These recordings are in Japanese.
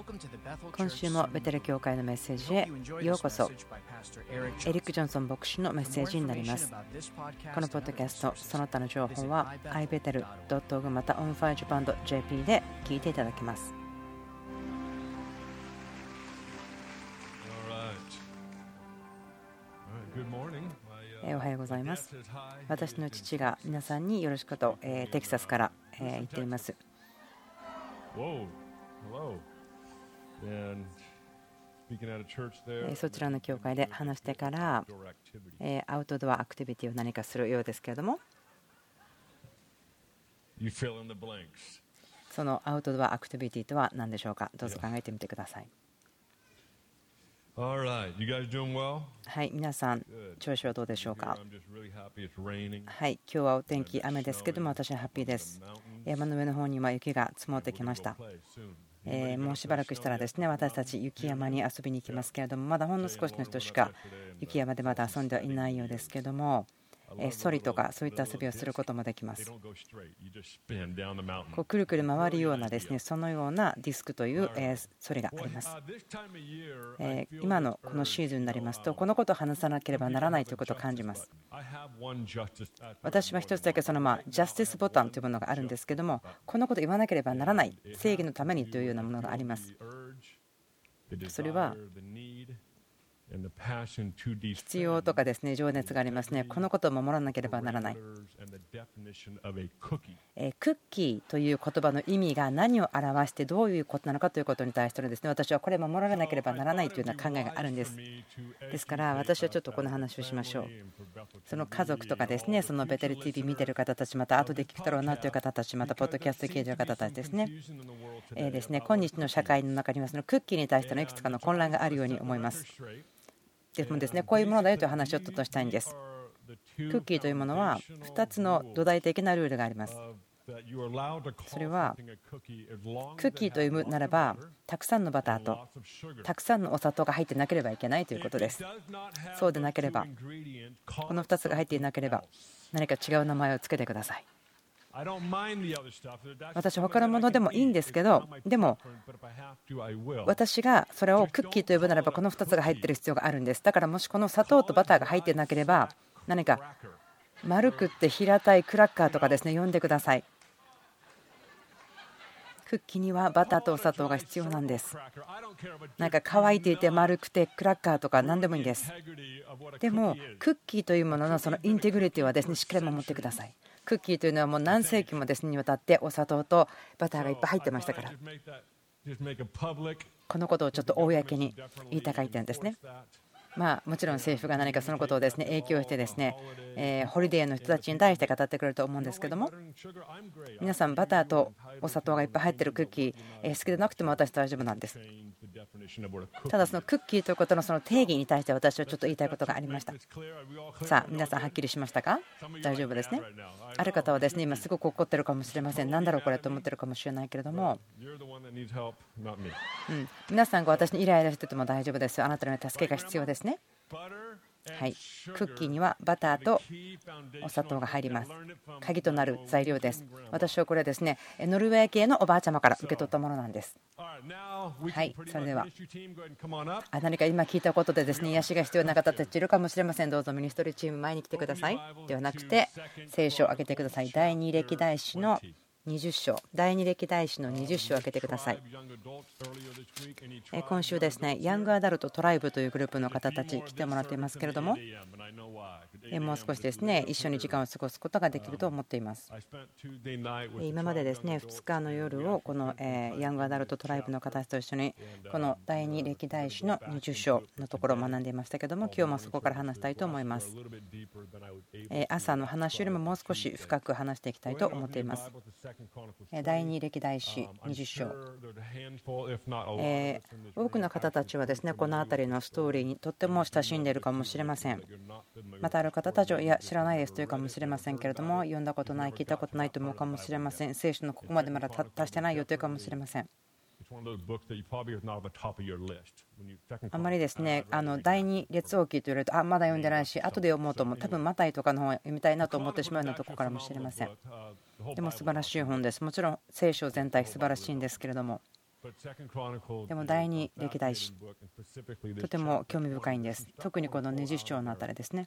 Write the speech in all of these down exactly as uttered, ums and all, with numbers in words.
今週もベテル教会のメッセージへようこそ。エリック・ジョンソン牧師のメッセージになります。このポッドキャストその他の情報は アイベテルドットオーアールジー また オンファイジャパンドットジェーピー で聞いていただけます。おはようございます。私の父が皆さんによろしくと、えー、テキサスから、えー、言っています。そちらの教会で話してから、えー、アウトドアアクティビティを何かするようですけれども、そのアウトドアアクティビティとは何でしょうか。どうぞ考えてみてください。はい、皆さん調子はどうでしょうか。はい、今日はお天気雨ですけども、私はハッピーです。山の上の方には雪が積もってきました。えー、もうしばらくしたらですね、私たち雪山に遊びに行きますけれども、まだほんの少しの人しか雪山でまだ遊んではいないようですけれども、ソリとかそういった遊びをすることもできます。こうくるくる回るようなですね、そのようなディスクというソリがあります。今のこのシーズンになりますと、このことを話さなければならないということを感じます。私は一つだけそのまあジャスティスボタンというものがあるんですけども、このことを言わなければならない、正義のためにというようなものがあります。それは必要とかですね、情熱がありますね。このことを守らなければならない。クッキーという言葉の意味が何を表してどういうことなのかということに対してですね、私はこれを守らなければならないというような考えがあるんです。ですから私はちょっとこの話をしましょう。その家族とかですね、そのベテル ティーブイ 見てる方たち、また後で聞くだろうなという方たち、またポッドキャスト聞いている方たちですね。えーですね、今日の社会の中にはそのクッキーに対してのいくつかの混乱があるように思います。でもですね、こういうものだよという話をちょっとしたいんです。クッキーというものはふたつの土台的なルールがあります。それはクッキーというならば、たくさんのバターとたくさんのお砂糖が入ってなければいけないということです。そうでなければ、このふたつが入っていなければ何か違う名前をつけてください。私は他のものでもいいんですけど、でも私がそれをクッキーと呼ぶならばこのふたつが入っている必要があるんです。だからもしこの砂糖とバターが入っていなければ、何か丸くって平たいクラッカーとかですね、呼んでください。クッキーにはバターとお砂糖が必要なんです。なんか乾いていて丸くてクラッカーとか何でもいいんです。でもクッキーというもののそのインテグリティはですね、しっかり守ってください。クッキーというのはもう何世紀もですねにわたってお砂糖とバターがいっぱい入ってましたから、このことをちょっと公に言いたかったんですね。まあもちろん政府が何かそのことをですね影響してですね、えー、ホリデーの人たちに対して語ってくれると思うんですけども、皆さんバターとお砂糖がいっぱい入っているクッキー、えー、好きでなくても私大丈夫なんです。ただそのクッキーということのその定義に対して私はちょっと言いたいことがありました。さあ皆さんはっきりしましたか。大丈夫ですね。ある方はですね今すごく怒ってるかもしれません。なんだろうこれと思ってるかもしれないけれども、うん、皆さんが私にイライラしてても大丈夫ですよ。あなたの助けが必要ですね。はい、クッキーにはバターとお砂糖が入ります。鍵となる材料です。私はこれですね、ノルウェー系のおばあちゃまから受け取ったものなんです。はい、それでは何か今聞いたことでですね癒しが必要な方たちいるかもしれません。どうぞミニストリーチーム前に来てください。ではなくて聖書を開けてください。第二歴代史のにじゅっ章、第二歴代史のにじゅっ章を開けてください。今週ですね、ヤングアダルトトライブというグループの方たち来てもらっていますけれども、もう少しですね一緒に時間を過ごすことができると思っています。今までですねふつかの夜をこのヤングアダルトトライブの方たちと一緒にこの第二歴代史のにじゅっ章のところを学んでいましたけども、今日もそこから話したいと思います。朝の話よりももう少し深く話していきたいと思っています。第二歴代史にじゅっ章、えー、多くの方たちはですねこの辺りのストーリーにとっても親しんでいるかもしれません。またある方たちはいや知らないですというかもしれませんけれども、読んだことない、聞いたことないと思うかもしれません。聖書のここまでまだ達してないよというかもしれません。あんまりですねあの第二列王記と言われるとあまだ読んでないし後で読もうと思う、多分マタイとかの本を読みたいなと思ってしまうようなところからもしれません。でも素晴らしい本です。もちろん聖書全体素晴らしいんですけれども、 でも第二歴代史、とても興味深いんです。特にこのにじゅう章のあたりですね。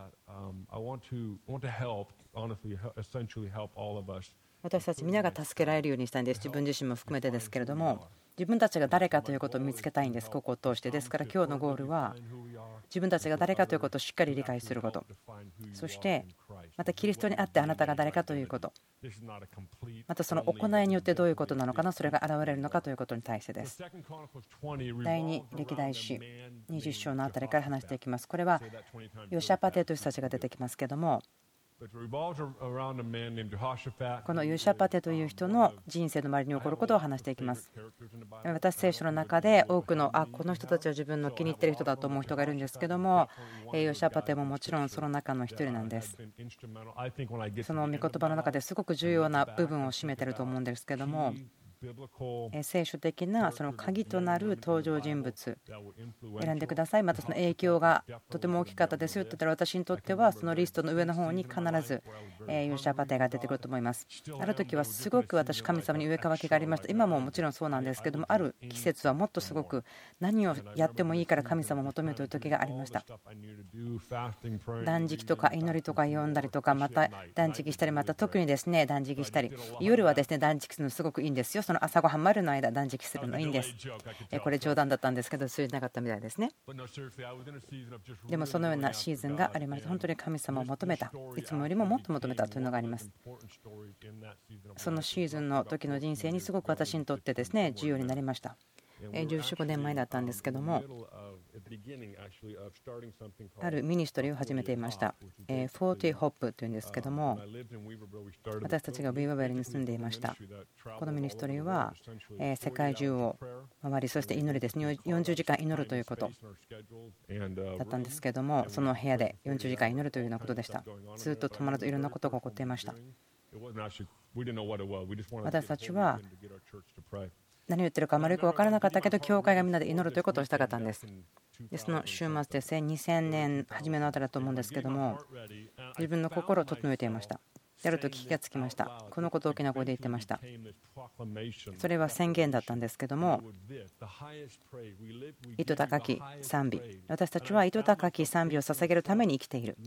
私たち皆が助けられるようにしたいんです。自分自身も含めてですけれども、自分たちが誰かということを見つけたいんです。ここを通して。ですから今日のゴールは自分たちが誰かということをしっかり理解すること、そしてまたキリストにあってあなたが誰かということ、またその行いによってどういうことなのかな、それが現れるのかということに対してです。第二歴代史にじゅう章のあたりから話していきます。これはヨシャパテという人たちが出てきますけども、このヨシャパテという人の人生の周りに起こることを話していきます。私聖書の中で多くのあこの人たちは自分の気に入っている人だと思う人がいるんですけども、ヨシャパテももちろんその中の一人なんです。その御言葉の中ですごく重要な部分を占めていると思うんですけども、聖書的なその鍵となる登場人物選んでください。またその影響がとても大きかったですよと言ったら、私にとってはそのリストの上の方に必ずヨシャパテが出てくると思います。ある時はすごく私神様に上かわきがありました。今ももちろんそうなんですけども、ある季節はもっとすごく何をやってもいいから神様を求めるという時がありました。断食とか祈りとか読んだりとか、また断食したり、また特にですね断食したり、夜はですね断食するのすごくいいんですよ。その朝ごはんまでの間断食するのいいんです。これ冗談だったんですけど、通じなかったみたいですね。でもそのようなシーズンがありました。本当に神様を求めた、いつもよりももっと求めたというのがあります。そのシーズンの時の人生にすごく私にとってですね重要になりました。じゅうよん、ごねんまえだったんですけども、あるミニストリーを始めていました。フォーティーホップというんですけども、私たちがウィーバーベルに住んでいました。このミニストリーは世界中を回り、そして祈りですね、よんじゅうじかん祈るということだったんですけども、その部屋でよんじゅうじかん祈るというようなことでした。ずっと止まらずいろんなことが起こっていました。私たちは何を言ってるかあまりよく分からなかったけど、教会がみんなで祈るということをしたかったんです。でその週末でにせんねん初めのあたりだと思うんですけども、自分の心を整えていました。あると気がつきました。このことを大きな声で言ってました。それは宣言だったんですけども、糸高き賛美、私たちは糸高き賛美を捧げるために生きている。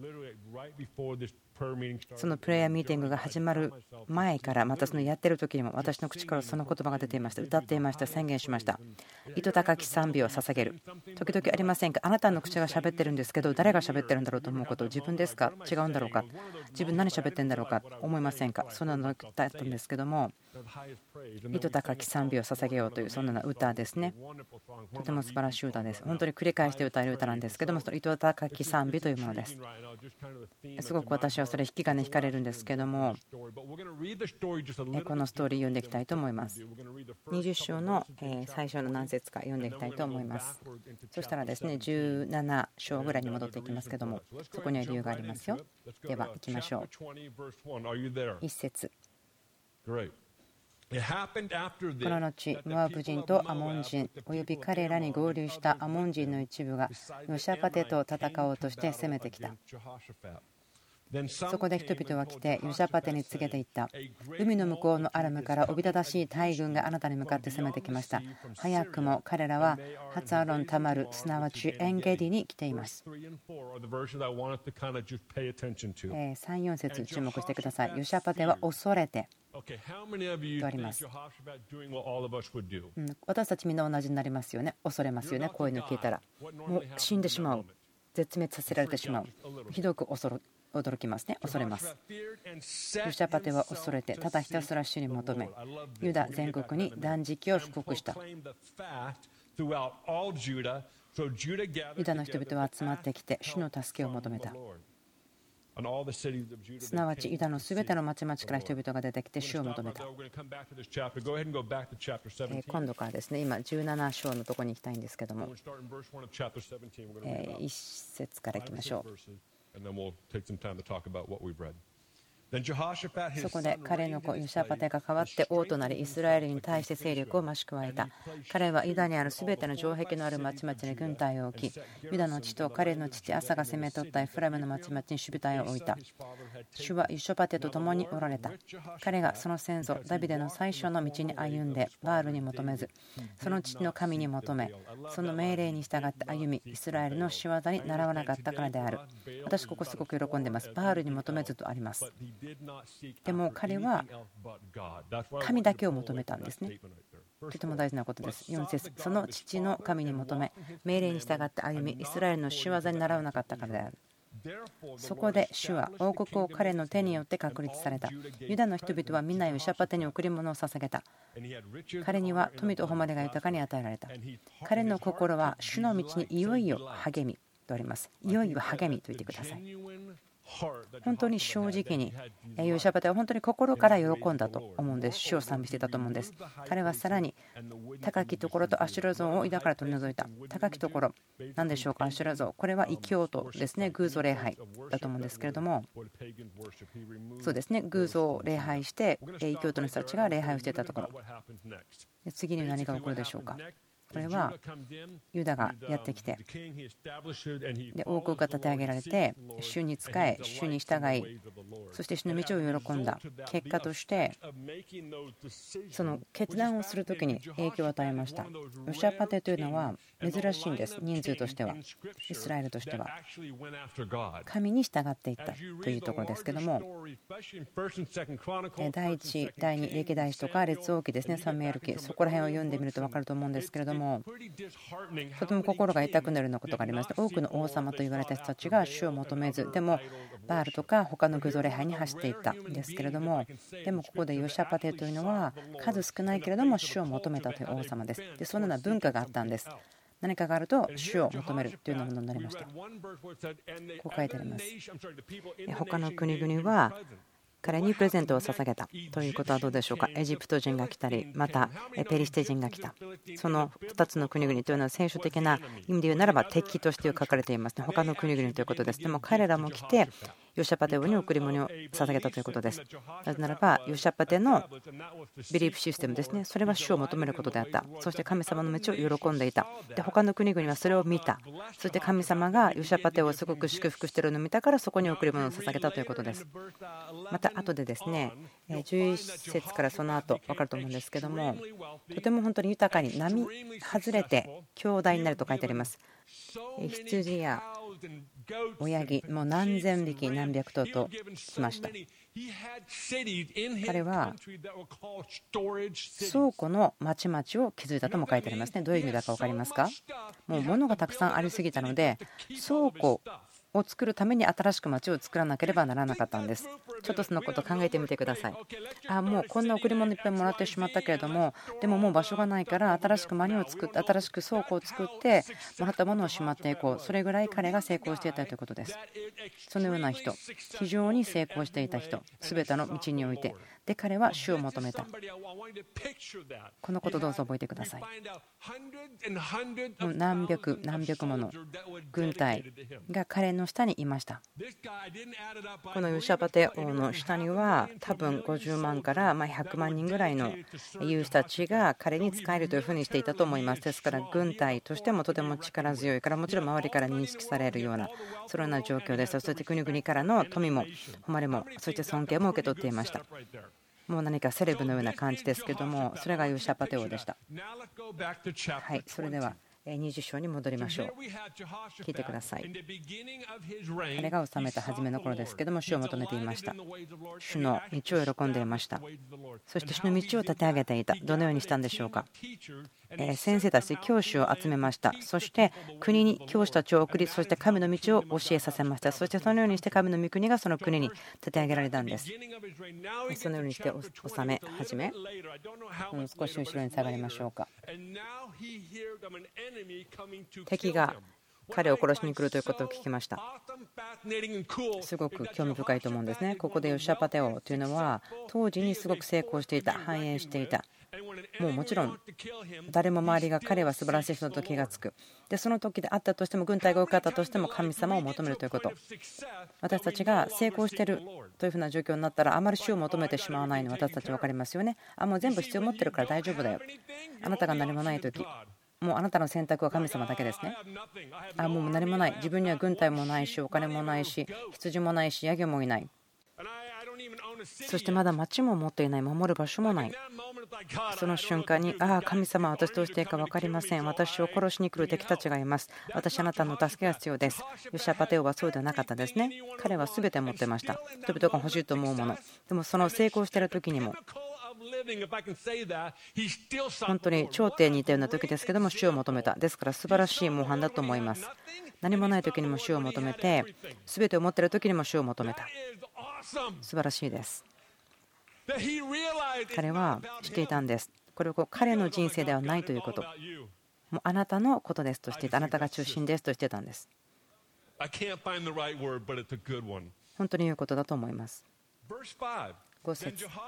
そのプレイヤーミーティングが始まる前から、またそのやってる時にも私の口からその言葉が出ていました。歌っていました。宣言しました。糸高き賛美を捧げる。時々ありませんか、あなたの口が喋ってるんですけど、誰が喋ってるんだろうと思うこと、自分ですか、違うんだろうか、自分何喋ってるんだろうか思いませんか。そんなのだったんですけども、糸高き賛美を捧げようというそんな歌ですね。とても素晴らしい歌です。本当に繰り返して歌える歌なんですけども、その糸高き賛美というものです。すごく私はそれ引き金引かれるんですけども、このストーリー読んでいきたいと思います。にじゅう章の最初の何節か読んでいきたいと思います。そしたらですねじゅうなな章ぐらいに戻っていきますけども、そこには理由がありますよ。では行きましょう。一節。この後、モアブ人とアモン人および彼らに合流したアモン人の一部がヨシャパテと戦おうとして攻めてきた。そこで人々は来てヨシャパテに告げていった。海の向こうのアラムからおびただしい大軍があなたに向かって攻めてきました。早くも彼らはハツアロンタマル、すなわちエンゲディに来ています。さん、よん節注目してください。ヨシャパテは恐れてとあります。うん、私たちみんな同じになりますよね。恐れますよね。こういうの聞いたらもう死んでしまう、絶滅させられてしまう、ひどく恐る驚きますね。恐れます。ヨシャパテは恐れて、ただひたすら主に求め、ユダ全国に断食を布告した。ユダの人々は集まってきて主の助けを求めた。すなわちユダのすべての町々から人々が出てきて主を求めた。今度からですね、今じゅうなな章のところに行きたいんですけども、いち節からいきましょう。 そこで彼の子ヨシャパテが代わって王となりイスラエルに対して勢力を増し加えた。彼はユダにあるすべての城壁のある町々に軍隊を置き、ユダの地と彼の父アサが攻め取ったエフライムの町々に守備隊を置いた。主はヨシャパテと共におられた。彼がその先祖ダビデの最初の道に歩んでバールに求めず、その父の神に求め、その命令に従って歩み、イスラエルの仕業に習わなかったからである。私ここすごく喜んでいます。バールに求めずとあります。でも彼は神だけを求めたんですね。とても大事なことです。よん節、その父の神に求め、命令に従って歩み、イスラエルの仕業に習わなかったからである。そこで主は王国を彼の手によって確立された。ユダの人々は皆ヨシャパテに贈り物を捧げた。彼には富と誉れが豊かに与えられた。彼の心は主の道にいよいよ励みとあります。いよいよ励みと言ってください。本当に正直にヨシャパテは本当に心から喜んだと思うんです。主を賛美していたと思うんです。彼はさらに高きところとアシュラ像を井戸から取り除いた。高きところ何でしょうか。アシュラ像、これは異教徒ですね。偶像礼拝だと思うんですけれども、そうですね、偶像を礼拝して異教徒の人たちが礼拝をしていたところ、次に何が起こるでしょうか。これはユダがやってきて、で王国が立て上げられて、主に仕え、主に従い、そして主の道を喜んだ結果として、その決断をするときに影響を与えました。ヨシャパテというのは珍しいんです。人数としては、イスラエルとしては神に従っていったというところですけども、第一、第二歴代史とか列王記ですね、サムエル記、そこら辺を読んでみると分かると思うんですけれども、とても心が痛くなるようなことがありました。多くの王様と言われた人たちが主を求めず、でもバールとか他の偶像礼拝に走っていったんですけれども、でもここでヨシャパテというのは数少ないけれども主を求めたという王様です。でそのような文化があったんです。何かがあると主を求めるというようなものになりました。こう書いてあります。他の国々は彼にプレゼントを捧げたということはどうでしょうか。エジプト人が来たり、またペリシテ人が来た。そのふたつの国々というのは聖書的な意味で言うならば敵として書かれていますね。他の国々ということです。でも彼らも来てヨシャパテ王に贈り物を捧げたということです。なぜならばヨシャパテのビリーフシステムですね、それは主を求めることであった。そして神様の道を喜んでいた。で他の国々はそれを見た。そして神様がヨシャパテをすごく祝福しているのを見たから、そこに贈り物を捧げたということです。また後でですね、じゅういっ節からその後分かると思うんですけども、とても本当に豊かに並外れて兄弟になると書いてあります。羊や親木もう何千匹何百頭としました。彼は倉庫の町々を築いたとも書いてありますね。どういう意味だか分かりますか。もう物がたくさんありすぎたので、倉庫を作るために新しく町を作らなければならなかったんです。ちょっとそのことを考えてみてください。あもうこんな贈り物いっぱいもらってしまったけれども、でももう場所がないから新しく間を作って、新しく倉庫を作ってもらったものをしまっていこう。それぐらい彼が成功していたということです。そのような人、非常に成功していた人、すべての道において、で彼は主を求めた。このことどうぞ覚えてください。もう何百何百もの軍隊が彼の下にいました。このヨシャパテ王の下には多分ごじゅうまんからひゃくまんにんぐらいの勇士たちが彼に仕えるというふうにしていたと思います。ですから軍隊としてもとても力強いから、もちろん周りから認識されるようなそのような状況です。そして国々からの富も誉れも、そして尊敬も受け取っていました。もう何かセレブのような感じですけども、それがヨシャパテ王でした。はい、それではにじゅう章に戻りましょう。聞いてください。彼が治めた初めの頃ですけども、主を求めていました。主の道を喜んでいました。そして主の道を立て上げていた。どのようにしたんでしょうか。先生たち教師を集めました。そして国に教師たちを送り、そして神の道を教えさせました。そしてそのようにして神の御国がその国に立て上げられたんです。そのようにして治め始め、少し後ろに下がりましょうか。敵が彼を殺しに来るということを聞きました。すごく興味深いと思うんですね。ここでヨシャパテ王というのは当時にすごく成功していた、繁栄していた。 もうもちろん誰も周りが彼は素晴らしい人だと気がつく。でその時であったとしても、軍隊が多かったとしても神様を求めるということ。私たちが成功しているというふうな状況になったら、あまり主を求めてしまわないの私たち分かりますよね。あもう全部必要持ってるから大丈夫だよ。あなたが何もない時、もうあなたの選択は神様だけですね。あもう何もない。自分には軍隊もないし、お金もないし、羊もないし、ヤギもいない。そしてまだ町も持っていない、守る場所もない。その瞬間に、ああ神様は私どうしていいか分かりません。私を殺しに来る敵たちがいます。私あなたの助けが必要です。ヨシャパテオはそうではなかったですね。彼は全て持ってました。人々が欲しいと思うもの。でもその成功している時にも、本当に頂点にいたような時ですけども、主を求めた。ですから素晴らしい模範だと思います。何もない時にも主を求めて、全てを持っている時にも主を求めた。素晴らしいです。彼は知っていたんです。これは彼の人生ではないということ。もうあなたのことですとしていた。あなたが中心ですとしてたんです。本当に言うことだと思います。ご節、ヨ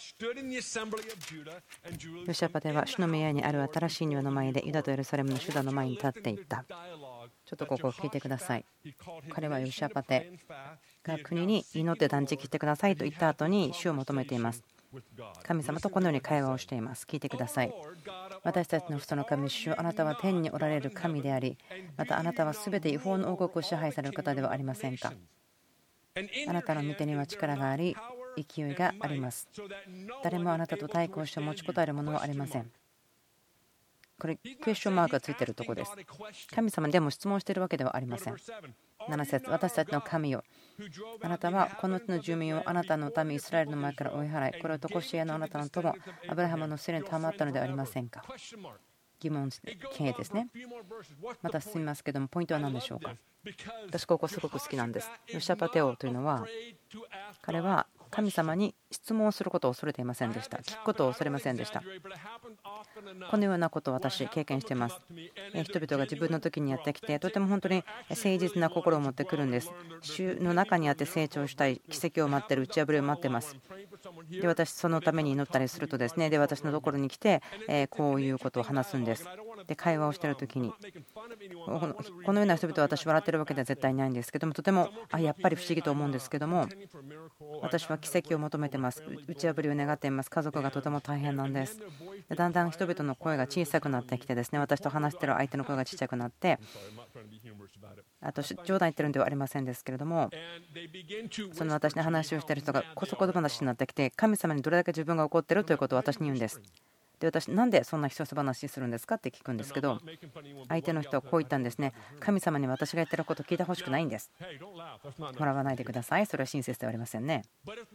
シャパテは主の宮にある新しい庭の前でユダとエルサレムの主ダの前に立っていった。ちょっとここを聞いてください。彼はヨシャパテが国に祈って断食してくださいと言った後に主を求めています。神様とこのように会話をしています。聞いてください。私たちの父の神主よ、あなたは天におられる神であり、またあなたはすべて違法の王国を支配される方ではありませんか。あなたの御手には力があり、勢いがあります。誰もあなたと対抗して持ちこたえるものはありません。これクエスチョンマークがついているところです。神様でも質問しているわけではありません。なな節、私たちの神よ、あなたはこの地の住民をあなたの民イスラエルの前から追い払い、これを常しえのあなたの友アブラハムのせいに賜ったのではありませんか。疑問形ですね。また進みますけども、ポイントは何でしょうか。私ここすごく好きなんです。ヨシャパテオというのは、彼は神様に質問をすることを恐れていませんでした。聞くことを恐れませんでした。このようなことを私経験しています。人々が自分の時にやってきて、とても本当に誠実な心を持ってくるんです。主の中にあって成長したい、奇跡を待っている、打ち破りを待っています。で私そのために祈ったりするとですね、で私のところに来てこういうことを話すんです。で会話をしている時に、このような人々は私笑ってるわけでは絶対ないんですけども、とてもあやっぱり不思議と思うんですけども、私は奇跡を求めてます。打ち破りを願っています。家族がとても大変なんです。でだんだん人々の声が小さくなってきてですね、私と話している相手の声が小さくなって、あと冗談言ってるんではありませんですけれども、その私に話をしている人がこそこそ話になってきて、神様にどれだけ自分が怒っているということを私に言うんです。で私なんでそんなひそひそ話するんですかって聞くんですけど、相手の人はこう言ったんですね。神様に私が言ってることを聞いてほしくないんです。笑わないでください。それは親切ではありませんね。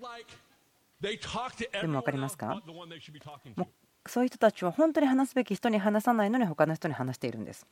でも分かりますか。もうそういう人たちは本当に話すべき人に話さないのに他の人に話しているんです。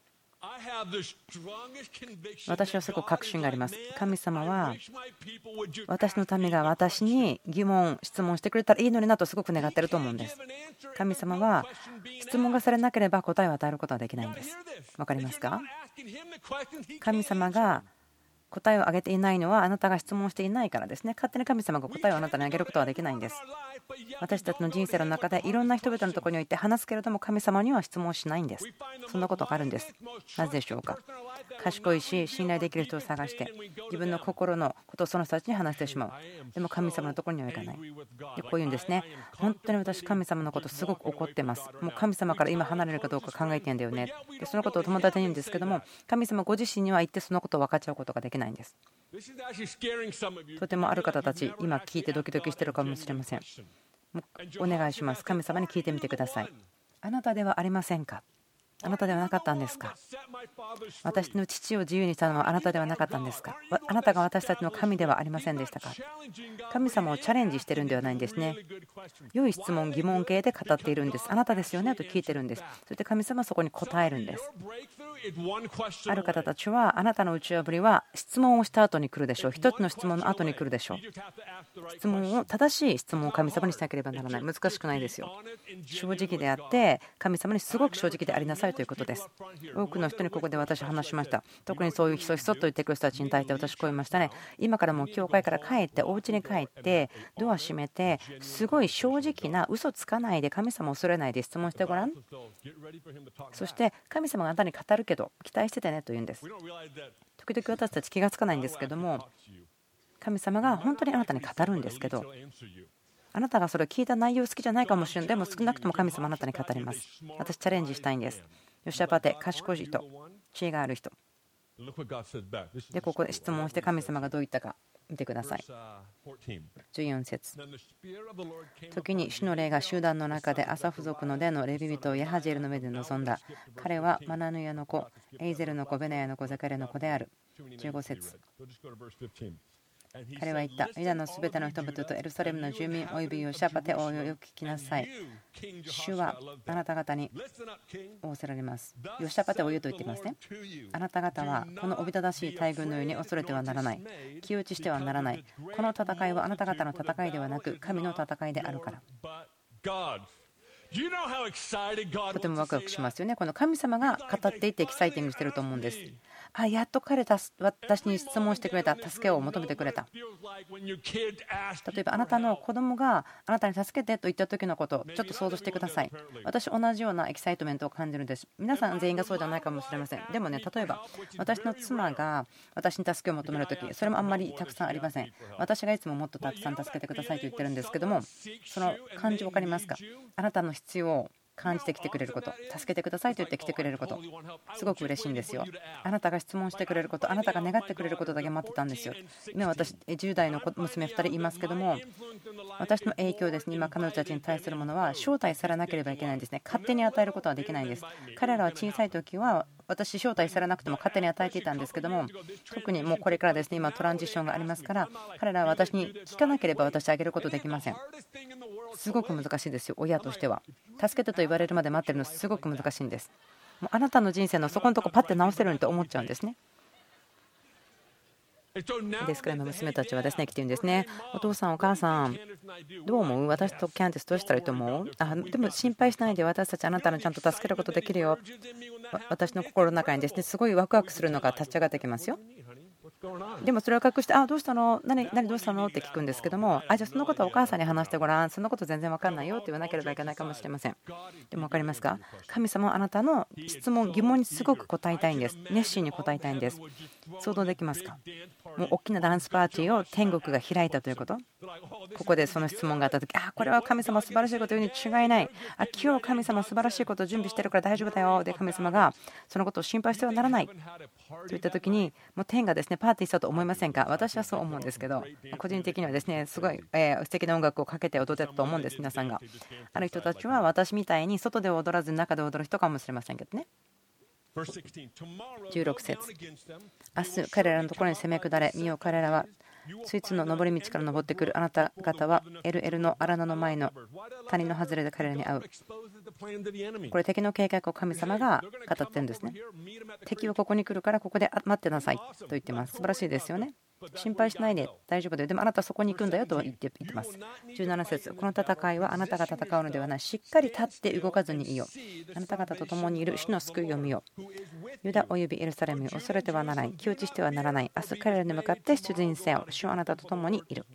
私はすごく確信があります。神様は私の民が私に疑問質問してくれたらいいのになとすごく願っていると思うんです。神様は質問がされなければ答えを与えることはできないんです。わかりますか。神様が答えをあげていないのはあなたが質問していないからですね。勝手に神様が答えをあなたにあげることはできないんです。私たちの人生の中でいろんな人々のところにおいて話すけれども、神様には質問しないんです。そんなことがあるんです。なぜでしょうか。賢いし信頼できる人を探して自分の心のことをその人たちに話してしまう。でも神様のところには行かない。でこういうんですね。本当に私神様のことすごく怒ってます。もう神様から今離れるかどうか考えてんだよね。でそのことを友達に言うんですけども、神様ご自身には言ってそのことを分かっちゃうことができないんです。とてもある方たち今聞いてドキドキしてるかもしれません。お願いします。神様に聞いてみてください。あなたではありませんか。あなたではなかったんですか。私の父を自由にしたのはあなたではなかったんですか。あなたが私たちの神ではありませんでしたか。神様をチャレンジしているんではないんですね。良い質問疑問形で語っているんです。あなたですよねと聞いてるんです。そして神様はそこに答えるんです。ある方たちはあなたの打ち破りは質問をした後に来るでしょう。一つの質問の後に来るでしょう。質問を正しい質問を神様にしなければならない。難しくないですよ。正直であって神様にすごく正直でありなさいいということです。多くの人にここで私は話しました。特にそういうひそひそと言ってくる人たちに対して私こう言いましたね。今からもう教会から帰ってお家に帰ってドア閉めてすごい正直な嘘つかないで神様を恐れないで質問してごらん。そして神様があなたに語るけど期待しててねと言うんです。時々私たち気がつかないんですけども、神様が本当にあなたに語るんですけど、あなたがそれを聞いた内容好きじゃないかもしれない。でも少なくとも神様あなたに語ります。私チャレンジしたいんです。ヨシャパテ、賢い人、知恵がある人で、ここで質問して神様がどう言ったか見てください。じゅうよん節、時に主の霊が集団の中でアサフ族の出のレビ人をヤハジェルの目で臨んだ。彼はマナヌヤの子、エイゼルの子、ベナヤの子、ザカレの子である。じゅうご節、彼は言った。ユダのすべての人々とエルサレムの住民およびヨシャパテ王よ、よく聞きなさい。主はあなた方に仰せられます。ヨシャパテ王よと言っていますね。あなた方はこのおびただしい大軍のように恐れてはならない。気打ちしてはならない。この戦いはあなた方の戦いではなく神の戦いであるから。とてもワクワクしますよね。この神様が語っていってエキサイティングしてると思うんです。あ、やっと彼た私に質問してくれた、助けを求めてくれた。例えばあなたの子供があなたに助けてと言った時のことをちょっと想像してください。私同じようなエキサイトメントを感じるんです。皆さん全員がそうじゃないかもしれません。でもね、例えば私の妻が私に助けを求める時、それもあんまりたくさんありません。私がいつももっとたくさん助けてくださいと言ってるんですけども、その感じ分かりますか？あなたの必要を感じてきてくれること、助けてくださいと言ってきてくれること、すごく嬉しいんですよ。あなたが質問してくれること、あなたが願ってくれることだけ待ってたんですよ。今私じゅう代の娘ふたりいますけども、私の影響ですね、今彼女たちに対するものは招待されなければいけないんですね。勝手に与えることはできないんです。彼らは小さい時は私招待されなくても勝手に与えていたんですけども、特にもうこれからですね、今トランジションがありますから、彼らは私に聞かなければ私あげることできません。すごく難しいですよ、親としては。助けてと言われるまで待ってるのすごく難しいんです。もうあなたの人生のそこのとこパッて直せるようにと思っちゃうんですね。ですから今娘たちはですね来てるんですね。お父さんお母さんどう思う？私とキャンディスどうしたらいいと思う？あでも心配しないで、私たちあなたのちゃんと助けることできるよ。私の心の中にですねすごいワクワクするのが立ち上がってきますよ。でもそれを隠して、あどうしたの、何何どうしたのって聞くんですけども、あじゃあそのことはお母さんに話してごらん、そのこと全然分かんないよって言わなければいけないかもしれません。でも分かりますか？神様はあなたの質問疑問にすごく答えたいんです。熱心に答えたいんです。想像できますか？もう大きなダンスパーティーを天国が開いたということ。ここでその質問があった時、あこれは神様素晴らしいこと言うに違いない、あ今日神様素晴らしいことを準備してるから大丈夫だよで、神様がそのことを心配してはならないといった時に、もう天がですねパーティーしたと思いませんか？私はそう思うんですけど、個人的にはですねすごい素敵な音楽をかけて踊ってたと思うんです。皆さんがある人たちは私みたいに外で踊らず中で踊る人かもしれませんけどね。じゅうろく節、明日彼らのところに攻め下れ、見よ彼らはスイーツの登り道から登ってくる。あなた方はエルエルの荒野の前の谷の外れで彼らに会う。これ敵の計画を神様が語ってるんですね。敵はここに来るからここで待ってなさいと言ってます。素晴らしいですよね。心配しないで大丈夫だよ、でもあなたはそこに行くんだよと言ってます。じゅうなな節、この戦いはあなたが戦うのではない、しっかり立って動かずにいよ。あなた方と共にいる主の救いを見よ。ユダおよびエルサレムよ、恐れてはならない、気落ちしてはならない。明日彼らに向かって出陣せよ。主はあなたと共にいる。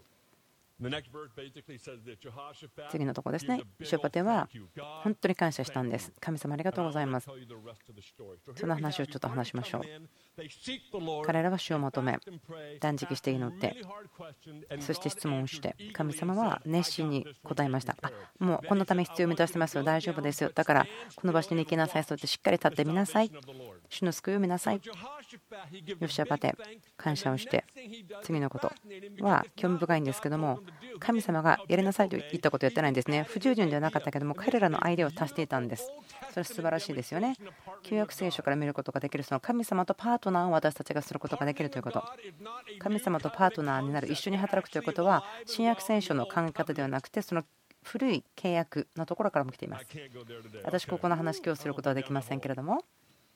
次のところですね。ショパテは本当に感謝したんです。神様ありがとうございます。その話をちょっと話しましょう。彼らは主を求め断食して祈って、そして質問をして、神様は熱心に答えました。あもうこのため必要を満たしてますよ、大丈夫ですよ、だからこの場所に行きなさい、そうやってしっかり立ってみなさい、主の救いを見なさい。ヨシャパテ感謝をして、次のことは興味深いんですけども、神様がやりなさいと言ったことをやってないんですね。不従順ではなかったけども彼らのアイデアを足していたんです。それは素晴らしいですよね。旧約聖書から見ることができる、その神様とパートナーを私たちがすることができるということ。神様とパートナーになる、一緒に働くということは新約聖書の考え方ではなくて、その古い契約のところからも来ています。私ここの話今日することはできませんけれども、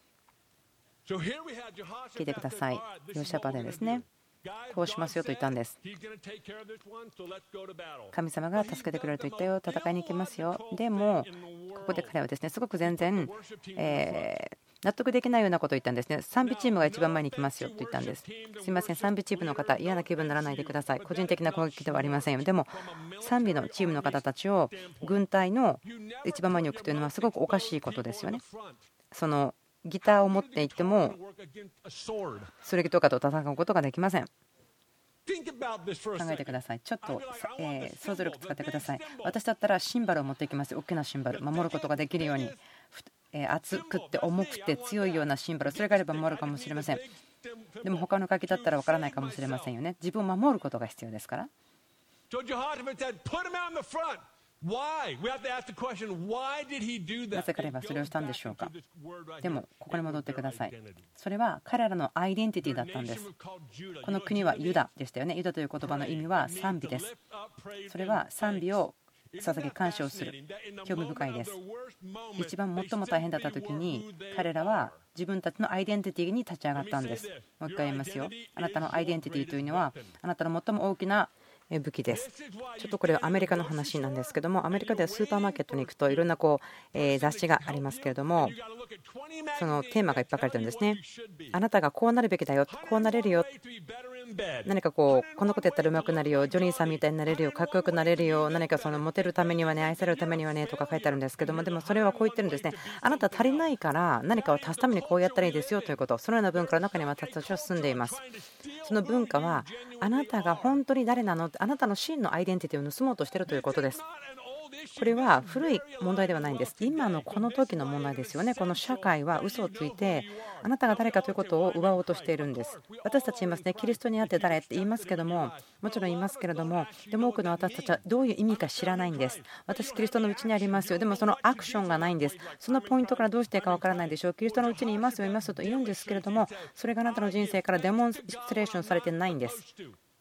聞いてください。ヨシャパテですね、こうしますよと言ったんです。神様が助けてくれると言ったよ、戦いに行きますよ。でもここで彼はですねすごく全然、えー納得できないようなことを言ったんですね。賛美チームが一番前に来ますよと言ったんです。すみません、賛美チームの方、嫌な気分にならないでください。個人的な攻撃ではありませんよ。でも、賛美のチームの方たちを軍隊の一番前に置くというのはすごくおかしいことですよね。そのギターを持っていっても、剣とかと戦うことができません。考えてください。ちょっと、えー、想像力使ってください。私だったらシンバルを持っていきます。大きなシンバル、守ることができるように。えー、厚くって重くて強いようなシンバル、それがあれば守るかもしれません。でも他の書きだったらわからないかもしれませんよね。自分を守ることが必要ですから。なぜ彼はそれをしたんでしょうか。でもここに戻ってください。それは彼らのアイデンティティだったんです。この国はユダでしたよね。ユダという言葉の意味は賛美です。それは賛美を捧げ感謝をする。興味深いです。一番最も大変だった時に彼らは自分たちのアイデンティティに立ち上がったんです。もう一回言いますよ。あなたのアイデンティティというのはあなたの最も大きな武器です。ちょっとこれはアメリカの話なんですけども、アメリカではスーパーマーケットに行くといろんなこう雑誌がありますけれども、そのテーマがいっぱい書かれてるんですね。あなたがこうなるべきだよ、こうなれるよ、何かこうこのことやったらうまくなるよ、ジョニーさんみたいになれるよ、かっこよくなれるよ、何かそのモテるためにはね、愛されるためにはねとか書いてあるんですけども、でもそれはこう言ってるんですね。あなた足りないから何かを足すためにこうやったらいいですよということ、そのような文化の中に私たちは住んでいます。その文化はあなたが本当に誰なの、あなたの真のアイデンティティを盗もうとしているということです。これは古い問題ではないんです。今のこの時の問題ですよね。この社会は嘘をついてあなたが誰かということを奪おうとしているんです。私たち言いますね、キリストにあって誰って言いますけども、もちろん言いますけれども、でも多くの私たちはどういう意味か知らないんです。私キリストのうちにありますよ。でもそのアクションがないんです。そのポイントからどうしていいかわからないでしょう。キリストのうちにいますよいますと言うんですけれども、それがあなたの人生からデモンストレーションされてないんです。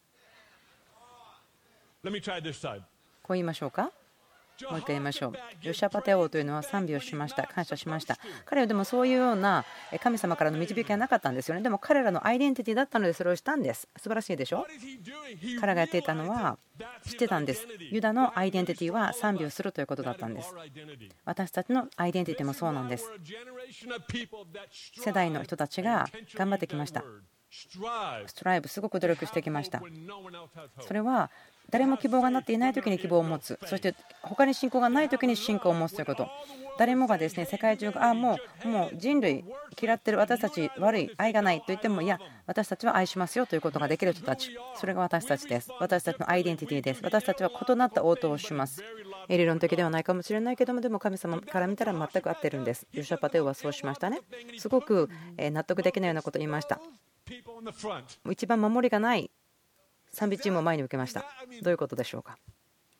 こう言いましょうか。もう一回言いましょう。ヨシャパテ王というのは賛美をしました。感謝しました。彼はでもそういうような神様からの導きはなかったんですよね。でも彼らのアイデンティティだったのでそれをしたんです。素晴らしいでしょ。彼がやっていたのは知ってたんです。ユダのアイデンティティは賛美をするということだったんです。私たちのアイデンティティもそうなんです。世代の人たちが頑張ってきました。ストライブ、すごく努力してきました。それは誰も希望がなっていない時に希望を持つ、そして他に信仰がない時に信仰を持つということ。誰もがですね、世界中があもうもう人類嫌ってる、私たち悪い、愛がないと言っても、いや私たちは愛しますよということができる人たち、それが私たちです。私たちのアイデンティティです。私たちは異なった応答をします。理論的ではないかもしれないけども、でも神様から見たら全く合ってるんです。ヨシャパテ王はそうしましたね。すごく納得できないようなことを言いました。一番守りがない賛美チームを前に受けました。どういうことでしょうか。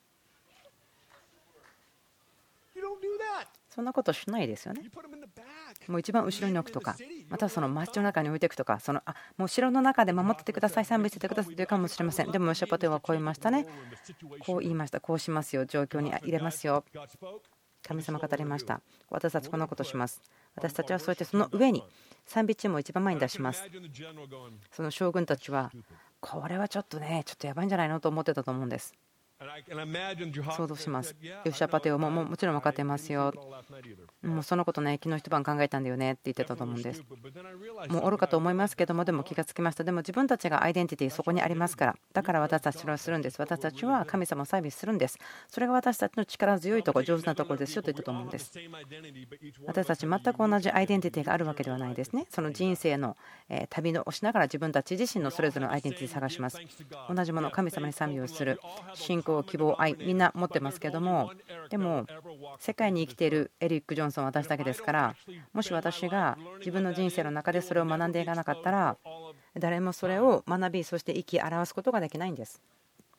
そんなことしないですよね。もう一番後ろに置くとか、またはその街の中に置いていくとか、そのあもう城の中で守っててください、賛美しててくださいというかもしれません。でもヨシャパテ王はこう言いましたね。こう言いました。こうしますよ、状況に入れますよ。神様語りました。私たちこんなことします。私たちはそうやってその上に賛美チームを一番前に出します。その将軍たちはこれはちょっとねちょっとやばいんじゃないのと思ってたと思うんです。想像します。ヨシャパテ王ももちろん分かってますよ。もうそのことね昨日一晩考えたんだよねって言ってたと思うんです。もう愚かと思いますけども、でも気がつきました。でも自分たちがアイデンティティそこにありますから、だから私たちそれをするんです。私たちは神様をサービスするんです。それが私たちの力強いところ、上手なところですよと言ったと思うんです。私たち全く同じアイデンティティがあるわけではないですね。その人生の旅をしながら自分たち自身のそれぞれのアイデンティティを探します。同じもの、神様に賛美をする、信仰、希望、愛、みんな持ってますけども、でも世界に生きているエリック・ジョンソンは私だけですから、もし私が自分の人生の中でそれを学んでいかなかったら、誰もそれを学び、そして生き表すことができないんです。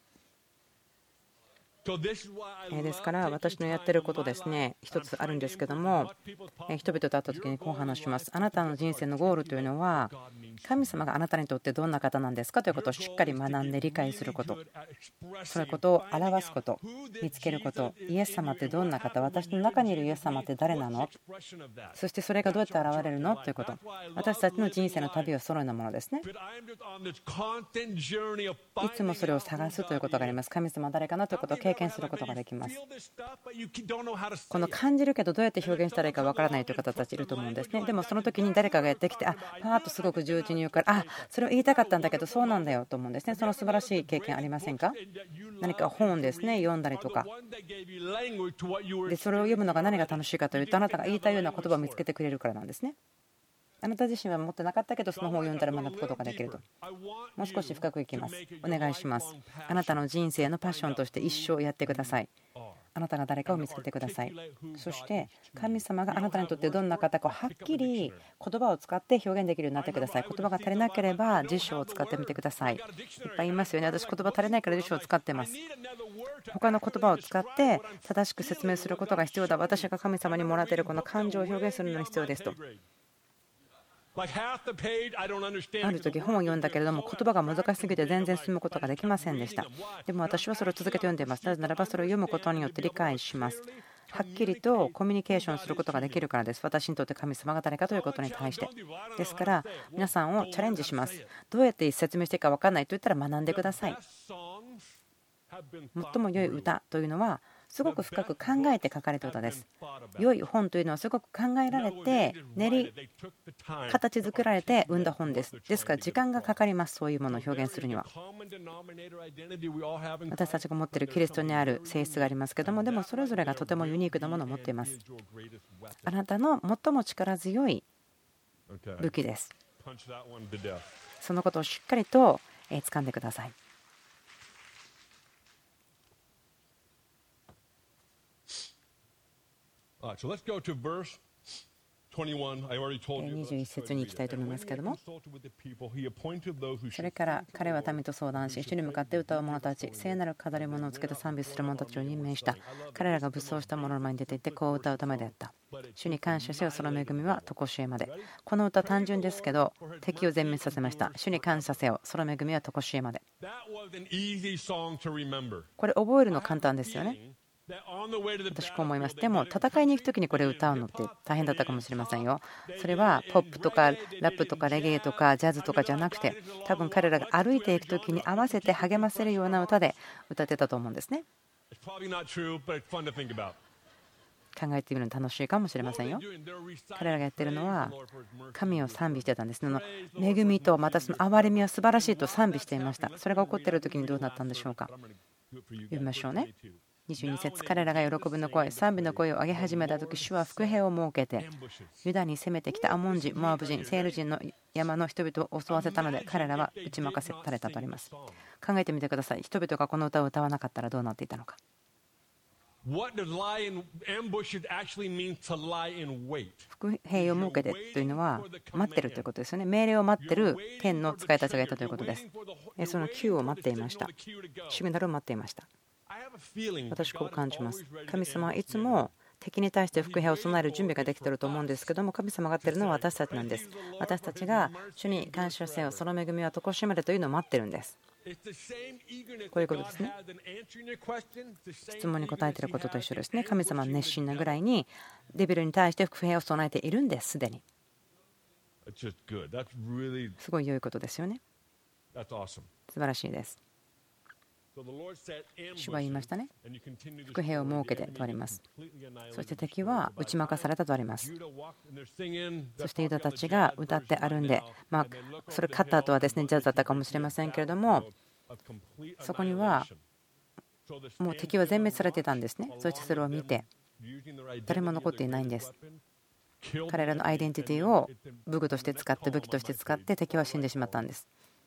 ですから私のやってることですね、一つあるんですけども、人々と会った時にこう話します。あなたの人生のゴールというのは神様があなたにとってどんな方なんですかということをしっかり学んで理解すること、そういうことを表すこと、見つけること。イエス様ってどんな方、私の中にいるイエス様って誰なの、そしてそれがどうやって現れるのということ。私たちの人生の旅はそのようなものですね。いつもそれを探すということがあります。神様誰かなということを経験験することができます。この感じるけどどうやって表現したらいいかわからないという方たちいると思うんですね。でもその時に誰かがやってきて、あパーッとすごく重鎮に言うから、あそれを言いたかったんだけどそうなんだよと思うんですね。その素晴らしい経験ありませんか？何か本ですね読んだりとかで、それを読むのが何が楽しいかというと、あなたが言いたいような言葉を見つけてくれるからなんですね。あなた自身は持ってなかったけどその本を読んだら学ぶことができると。もう少し深くいきます。お願いします。あなたの人生のパッションとして一生やってください。あなたが誰かを見つけてください。そして神様があなたにとってどんな方かをはっきり言葉を使って表現できるようになってください。言葉が足りなければ辞書を使ってみてください。いっぱい言いますよね。私言葉足りないから辞書を使ってます。他の言葉を使って正しく説明することが必要だ。私が神様にもらっているこの感情を表現するのに必要ですと。ある時本を読んだけれども言葉が難しすぎて全然進むことができませんでした。でも私はそれを続けて読んでいます。なぜならばそれを読むことによって理解します。はっきりとコミュニケーションすることができるからです。私にとって神様が誰かということに対して。ですから皆さんをチャレンジします。どうやって説明していいか分からないと言ったら学んでください。最も良い歌というのはすごく深く考えて書かれた歌です。良い本というのはすごく考えられて練り形作られて生んだ本です。ですから時間がかかります。そういうものを表現するには。私たちが持っているキリストにある性質がありますけども、でもそれぞれがとてもユニークなものを持っています。あなたの最も力強い武器です。そのことをしっかりと掴んでください。 にじゅういち節に行きたいと思いますけれども、それから彼は民と相談し、主に向かって歌う者たち、聖なる飾り物をつけて賛美する者たちを任命した。彼らが武装した者の前に出ていってこう歌うためであった。主に感謝せよ、その恵みは常しえまで。この歌単純ですけど敵を全滅させました。主に感謝せよ、その恵みは常しえまで。これ覚えるの簡単ですよね。私こう思います。でも戦いに行く時にこれを歌うのって大変だったかもしれませんよ。それはポップとかラップとかレゲエとかジャズとかじゃなくて、多分彼らが歩いていく時に合わせて励ませるような歌で歌ってたと思うんですね。考えてみるの楽しいかもしれませんよ。彼らがやってるのは神を賛美してたんです。恵みとまたその憐れみは素晴らしいと賛美していました。それが起こっている時にどうなったんでしょうか。読みましょうね。にじゅうに節、彼らが喜びの声、賛美の声を上げ始めたとき、主は伏兵を設けて、ユダに攻めてきたアモン人、モアブ人、セール人の山の人々を襲わせたので、彼らは打ち負かされたとあります。考えてみてください。人々がこの歌を歌わなかったらどうなっていたのか。伏兵を設けてというのは待ってるということですよね。命令を待ってる天の使いたちがいたということです。その救を待っていました。シグナルを待っていました。私こう感じます。神様はいつも敵に対して伏兵を備える準備ができていると思うんですけども、神様がやっているのは私たちなんです。私たちが主に感謝せよ、その恵みは常しえまでというのを待ってるんです。こういうことですね。質問に答えていることと一緒ですね。神様は熱心なぐらいにデビルに対して伏兵を備えているんです。すでにすごい良いことですよね。素晴らしいです。主は言いましたね。伏兵を設けてとあります。そして敵は打ち負かされたとあります。そしてユダたちが歌って歩んで、まあそれ勝った後はですねジャズだったかもしれませんけれども、そこにはもう敵は全滅されていたんですね。そしてそれを見て誰も残っていないんです。彼らのアイデンティティを武具として使って武器として使って敵は死んでしまったんです。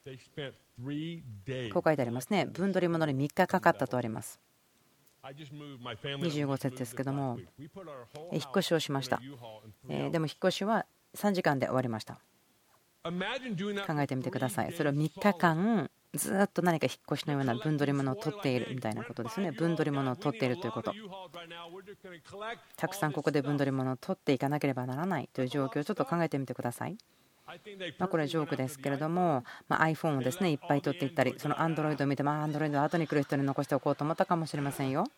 こう書いてありますね。分取り物にみっかかかったとあります。にじゅうご節ですけども、引っ越しをしました。でも引っ越しはさんじかんで終わりました。考えてみてください。それをみっかかんずっと何か引っ越しのような分取り物を取っているみたいなことですね。分取り物を取っているということ、たくさんここで分取り物を取っていかなければならないという状況をちょっと考えてみてください。まあこれはジョークですけれども、まあ iPhone をですねいっぱい取っていったり、その Android を見て、まあ Android は後に来る人に残しておこうと思ったかもしれませんよ。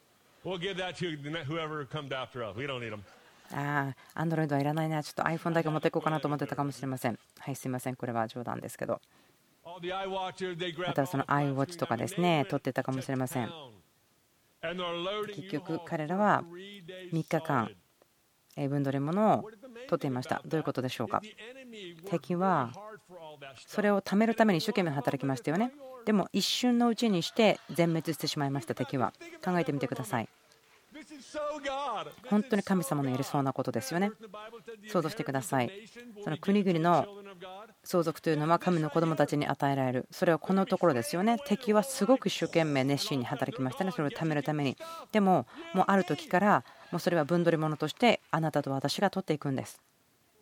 ああ、Android はいらないな、ちょっと iPhone だけ持っていこうかなと思ってたかもしれません。はい、すいません、これは冗談ですけど、またその iWatch とかですね取っていたかもしれません。 結局彼らはみっかかん分取り物を取っていました。どういうことでしょうか。敵はそれを貯めるために一生懸命働きましたよね。でも一瞬のうちにして全滅してしまいました。敵は。考えてみてください。本当に神様のやりそうなことですよね。想像してください。その国々の相続というのは神の子供たちに与えられる。それはこのところですよね。敵はすごく一生懸命熱心に働きましたね。それを貯めるために。でももうある時からもうそれは分取り物としてあなたと私が取っていくんです。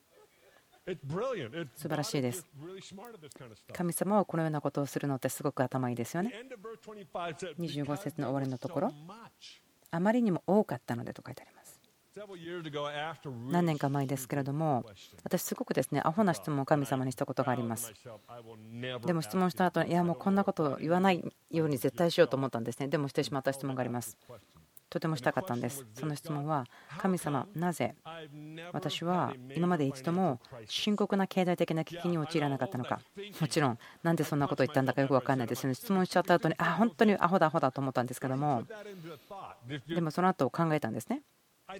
素晴らしいです。神様はこのようなことをするのってすごく頭いいですよね。にじゅうご節の終わりのところ、あまりにも多かったのでと書いてあります。何年か前ですけれども、私すごくですねアホな質問を神様にしたことがあります。でも質問した後にいやもうこんなことを言わないように絶対しようと思ったんですね。でもしてしまった質問があります。とてもしたかったんです。その質問は、神様なぜ私は今まで一度も深刻な経済的な危機に陥らなかったのか。もちろんなんでそんなことを言ったんだかよく分かんないですよね。質問しちゃった後にあ本当にアホだアホだと思ったんですけども、でもその後考えたんですね。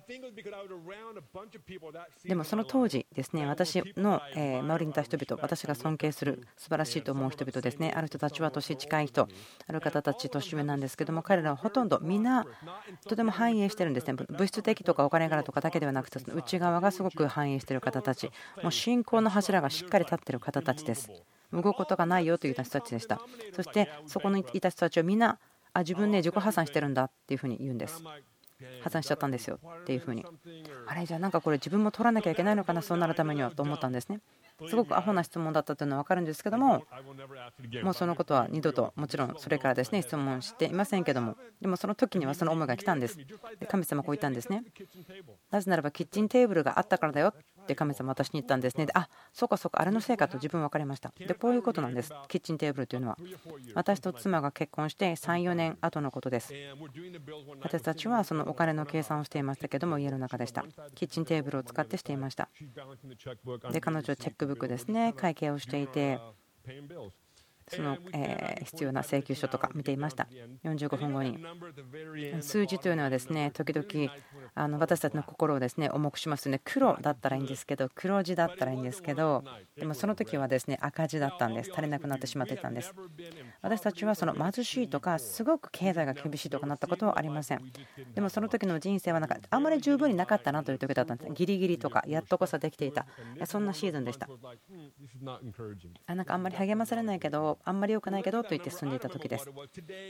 でもその当時ですね、私の周りにいた人々、私が尊敬する素晴らしいと思う人々ですね、ある人たちは年近い人、ある方たち年上なんですけども、彼らはほとんどみんなとても繁栄してるんですね。物質的とかお金からとかだけではなくて、内側がすごく繁栄している方たち、もう信仰の柱がしっかり立っている方たちです。動くことがないよという人たちでした。そしてそこにいた人たちはみんなあ自分ね自己破産してるんだっていうふうに言うんです。破産しちゃったんですよっていうふうに、あれじゃあなんかこれ自分も取らなきゃいけないのかな、そうなるためにはと思ったんですね。すごくアホな質問だったというのは分かるんですけども、もうそのことは二度ともちろんそれからですね質問していませんけども、でもその時にはその思いが来たんです。で神様こう言ったんですね。なぜならばキッチンテーブルがあったからだよって神様私に言ったんですね。であそうかそうかあれのせいかと自分分かりました。でこういうことなんです。キッチンテーブルというのは私と妻が結婚してさんよねんごのことです。私たちはそのお金の計算をしていましたけども家の中でした。キッチンテーブルを使ってしていました。で彼女はチェックブックですね会計をしていて、その必要な請求書とか見ていました。よんじゅうごふんごに数字というのはですね時々あの私たちの心をですね重くしますね。黒だったらいいんですけど黒字だったらいいんですけど、でもその時はですね赤字だったんです。足りなくなってしまっていたんです。私たちはその貧しいとかすごく経済が厳しいとかなったことはありません。でもその時の人生はなんかあんまり十分になかったなという時だったんです。ギリギリとかやっとこそできていた、そんなシーズンでした。あなんかあんまり励まされないけどあんまり良くないけどと言って進んでいた時です。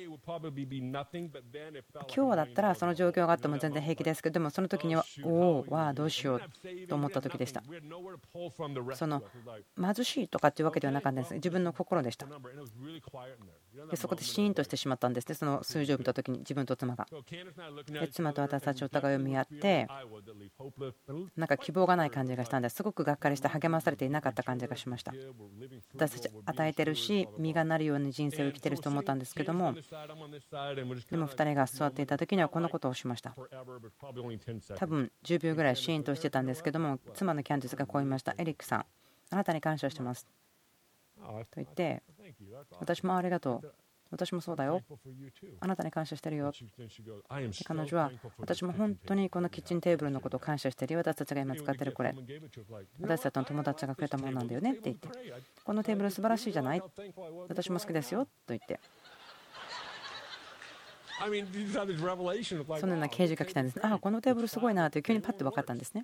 今日だったらその状況があっても全然平気ですけど、でもその時にはおおわあどうしようと思った時でした。その貧しいとかっていうわけではなかったんです。自分の心でした。でそこでシーンとしてしまったんですね。その数字を見た時に自分と妻がで妻と私たちお互いを見合ってなんか希望がない感じがしたんです。すごくがっかりして励まされていなかった感じがしました。私たち与えてるし実がなるように人生を生きてると思ったんですけども、でもふたりが座っていた時にはこのことをしました。多分じゅうびょうぐらいシーンとしてたんですけども、妻のキャンディスがこう言いました。エリックさんあなたに感謝してますと言って、私もありがとう、私もそうだよ、あなたに感謝してるよ。彼女は私も本当にこのキッチンテーブルのことを感謝してるよ、私たちが今使ってるこれ私たちの友達がくれたものなんだよねって言って、このテーブル素晴らしいじゃない、私も好きですよと言って、そのような啓示が来たんです。ああこのテーブルすごいなって急にパッと分かったんですね。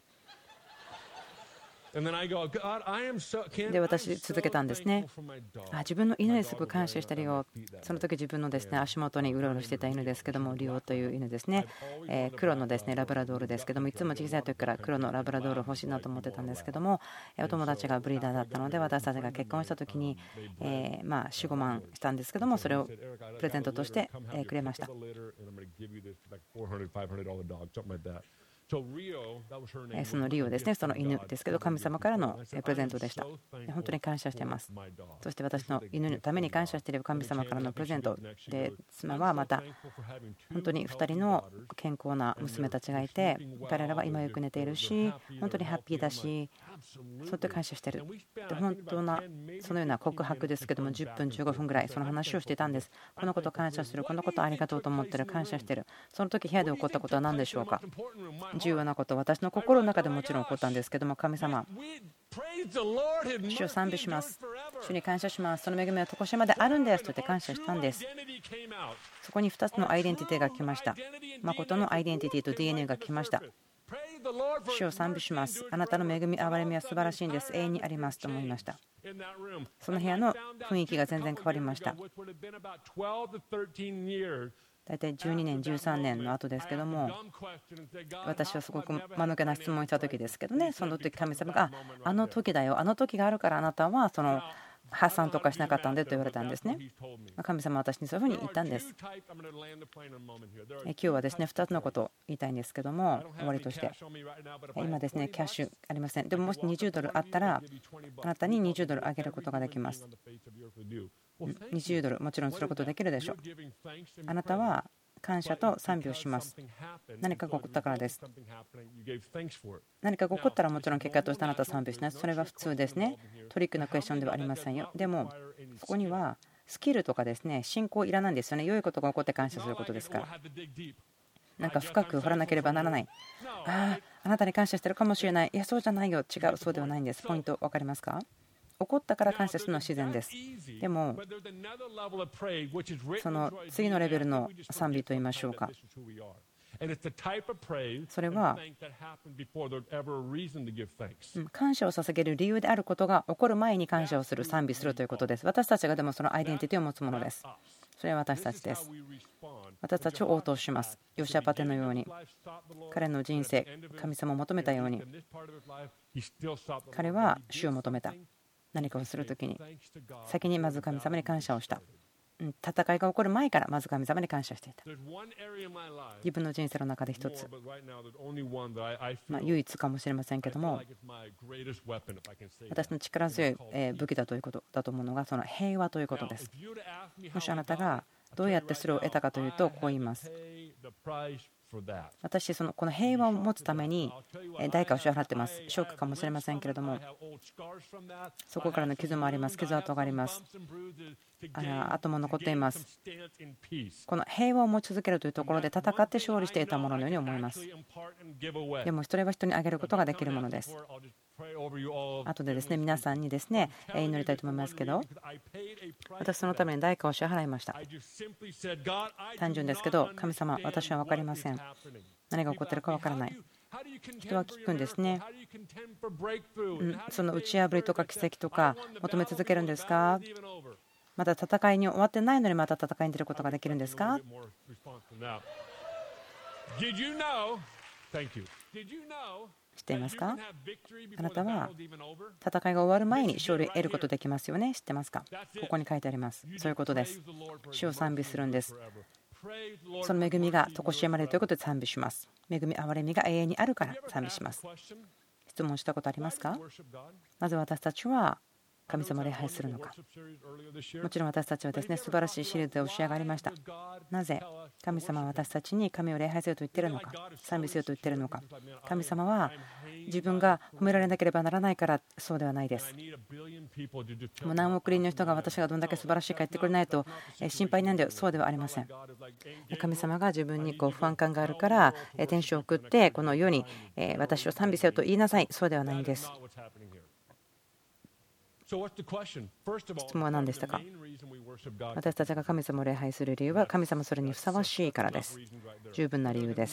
で私続けたんですね。あ自分の犬にすごく感謝してるよ。その時自分のですね足元にうろうろしてた犬ですけども、リオという犬ですね、えー、黒のですねラブラドールですけども、いつも小さい時から黒のラブラドール欲しいなと思ってたんですけども、お友達がブリーダーだったので私たちが結婚した時にえーまあよん、ごまんしたんですけども、それをプレゼントとしてくれました。 そのリオですね、その犬ですけど、神様からのプレゼントでした。本当に感謝しています。そして私の犬のために感謝している神様からのプレゼントで、妻はまた本当にふたりの健康な娘たちがいて、彼らは今よく寝ているし、本当にハッピーだし、そうやって感謝している。で本当なそのような告白ですけども、じゅっぷんじゅうごふんぐらいその話をしていたんです。このこと感謝する、このことありがとうと思ってる、感謝している。その時部屋で起こったことは何でしょうか。重要なこと、私の心の中でもちろん起こったんですけども、神様、主を賛美します。主に感謝します。その恵みは常しえまであるんですと言って感謝したんです。そこにふたつのアイデンティティが来ました。誠のアイデンティティと ディーエヌエー が来ました。主を賛美します。あなたの恵み、憐れみは素晴らしいんです。永遠にありますと思いました。その部屋の雰囲気が全然変わりました。大体じゅうにねん、じゅうさんねんの後ですけども、私はすごく間抜けな質問をした時ですけどね、その時神様が、あの時だよ、あの時があるからあなたはその破産とかしなかったんでと言われたんですね。神様は私にそういうふうに言ったんです。今日はですね、ふたつのことを言いたいんですけども、終わりとして、今ですね、キャッシュありません。でももしにじゅうドルあったら、あなたににじゅうドルあげることができます。にじゅうドルもちろんすることできるでしょう。あなたは感謝と賛美をします。何かが起こったからです。何かが起こったらもちろん結果としてあなたは賛美します。それは普通ですね。トリックなクエスチョンではありませんよ。でもそこにはスキルとかですね、信仰いらないんですよね。良いことが起こって感謝することですから。なんか深く掘らなければならない。ああ、あなたに感謝してるかもしれない。いや、そうじゃないよ。違う、そうではないんです。ポイント分かりますか。起こったから感謝するのは自然です。でもその次のレベルの賛美といいましょうか、それは感謝を捧げる理由であることが起こる前に感謝をする、賛美するということです。私たちがでもそのアイデンティティを持つものです。それは私たちです。私たちを応答します。ヨシャパテのように、彼の人生、神様を求めたように、彼は主を求めた。何かをするときに先にまず神様に感謝をした。戦いが起こる前からまず神様に感謝していた。自分の人生の中で一つ、まあ唯一かもしれませんけども、私の力強い武器だということだと思うのがその平和ということです。もしあなたがどうやってそれを得たかというと、こう言います。私、そのこの平和を持つために代価を支払っています。ショックかもしれませんけれども、そこからの傷もあります。傷跡があります。あとも残っています。この平和を持ち続けるというところで戦って勝利していたもののように思います。でもそれは人にあげることができるものです。あとでですね、皆さんにですね祈りたいと思いますけど、私そのために代価を支払いました。単純ですけど、神様、私は分かりません。何が起こっているか分からない。人は聞くんですね。その打ち破りとか奇跡とか求め続けるんですか。まだ戦いに終わってないのにまた戦いに出ることができるんですか。知っていますか。あなたは戦いが終わる前に勝利を得ることできますよね。知ってますか。ここに書いてあります。そういうことです。主を賛美するんです。その恵みが常しえまでということで賛美します。恵み、憐れみが永遠にあるから賛美します。質問したことありますか。なぜ私たちは神様を礼拝するのか。もちろん私たちはですね、素晴らしいシリーズで教えがありました。なぜ神様は私たちに神を礼拝せよと言っているのか、賛美せよと言っているのか。神様は自分が褒められなければならないからそうではないです。もう何億人の人が私がどんだけ素晴らしいか言ってくれないと心配なんだよ。そうではありません。神様が自分にこう不安感があるから天使を送ってこの世に私を賛美せよと言いなさい。そうではないんです。質問は何でしたか。私たちが神様を礼拝する理由は神様それにふさわしいからです。十分な理由です。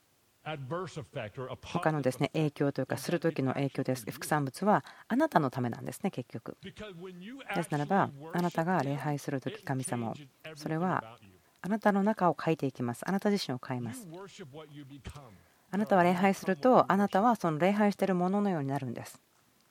他のですね影響というかする時の影響です。副産物はあなたのためなんですね。結局ですならば、あなたが礼拝する時神様を、それはあなたの中を変えていきます。あなた自身を変えます。あなたは礼拝すると、あなたはその礼拝しているもののようになるんです。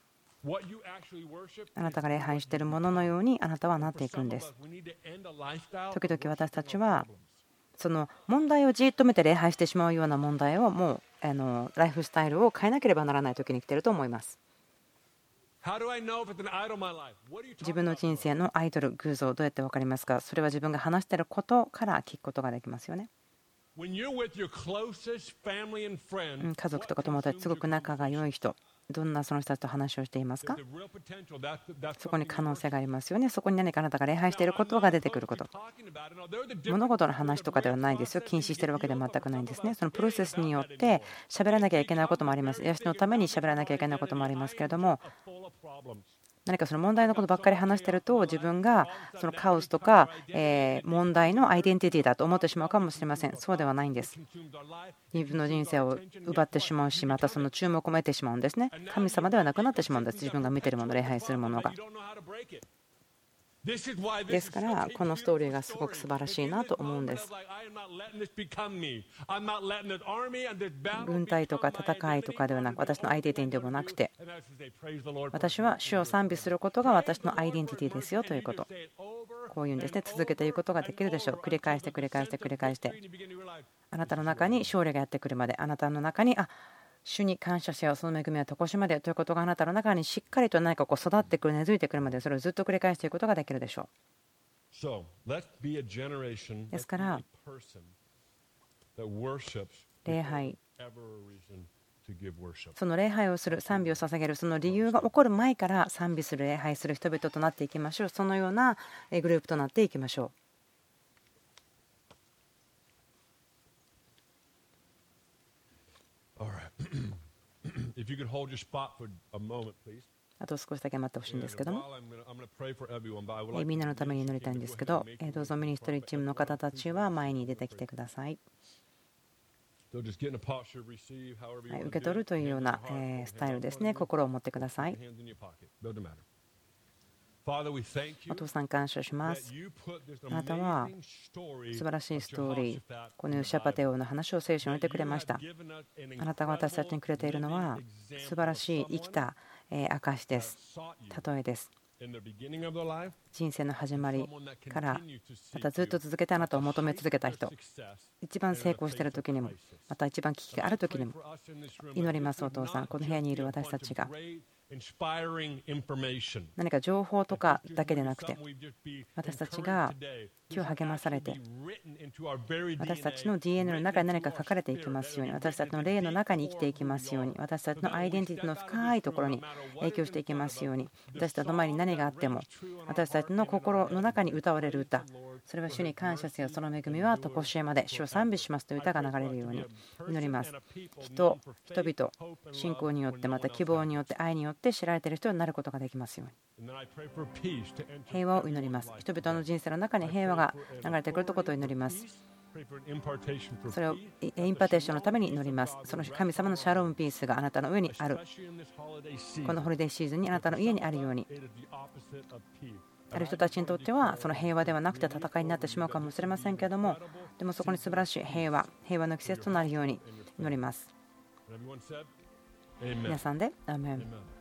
あなたが礼拝しているもののようにあなたはなっていくんです。時々私たちはその問題をじっと見て礼拝してしまうような問題をもうあのライフスタイルを変えなければならない時に来ていると思います。自分の人生のアイドル、偶像、どうやって分かりますか？それは自分が話していることから聞くことができますよね。家族とか友達、すごく仲が良い人、どんなその人たちと話をしていますか？そこに可能性がありますよね。そこに何かあなたが礼拝していることが出てくること。物事の話とかではないですよ。禁止しているわけでは全くないんですね。そのプロセスによって喋らなきゃいけないこともあります。癒しのために喋らなきゃいけないこともありますけれども、何かその問題のことばっかり話していると、自分がそのカオスとか問題のアイデンティティだと思ってしまうかもしれません。そうではないんです。自分の人生を奪ってしまうし、またその注目を得てしまうんですね。神様ではなくなってしまうんです。自分が見ているもの、礼拝するものが。ですからこのストーリーがすごく素晴らしいなと思うんです。軍隊とか戦いとかではなく、私のアイデンティティでもなくて、私は主を賛美することが私のアイデンティティですよということ、こういうんですね。続けていくことができるでしょう。繰り返して繰り返して繰り返して、あなたの中に勝利がやってくるまで、あなたの中にあ主に感謝せよ、その恵みは常しまでということがあなたの中にしっかりと何かこう育ってくる、根付いてくるまで、それをずっと繰り返していくことができるでしょう。ですから礼拝、その礼拝をする、賛美を捧げる、その理由が起こる前から賛美する、礼拝する人々となっていきましょう。そのようなグループとなっていきましょう。あと少しだけ待ってほしいんですけども、みんなのために祈りたいんですけど、どうぞミニストリーチームの方たちは前に出てきてください。受け取るというようなスタイルですね。心を持ってください。お父さん感謝します。あなたは素晴らしいストーリー、このシャパテオの話を聖書に置いてくれました。あなたが私たちにくれているのは素晴らしい生きた証です。例えです。人生の始まりからまたずっと続けてあなたを求め続けた人、一番成功している時にも、また一番危機がある時にも祈ります。お父さん、この部屋にいる私たちが何か情報とかだけでなくて、私たちが今日励まされて、私たちの ディーエヌエー の中に何か書かれていきますように、私たちの霊の中に生きていきますように、私たちのアイデンティティの深いところに影響していきますように、私たちの前に何があっても私たちの心の中に歌われる歌、それは主に感謝せよ、その恵みは常しえまで、主を賛美しますという歌が流れるように祈ります。人、人々、信仰によって、また希望によって、愛によって知られている人になることができますように。平和を祈ります。人々の人生の中に平和が流れてくることを祈ります。それをインパテーションのために祈ります。その神様のシャロームピースがあなたの上にある、このホリデーシーズンにあなたの家にあるように。ある人たちにとってはその平和ではなくて戦いになってしまうかもしれませんけれども、でもそこに素晴らしい平和、平和の季節となるように祈ります。皆さんでアーメン。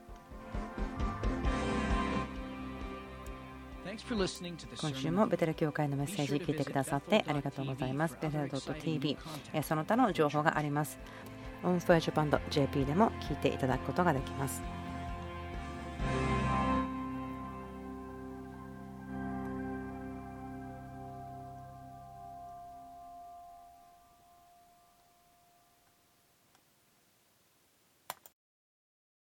今週もベテル教会のメッセージ聞いてくださってありがとうございます。ベテル .ティービー、その他の情報があります。オンファイジャパン ドット ジェーピー でも聞いていただくことができます。